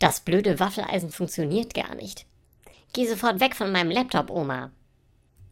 Das blöde Waffeleisen funktioniert gar nicht. Geh sofort weg von meinem Laptop, Oma.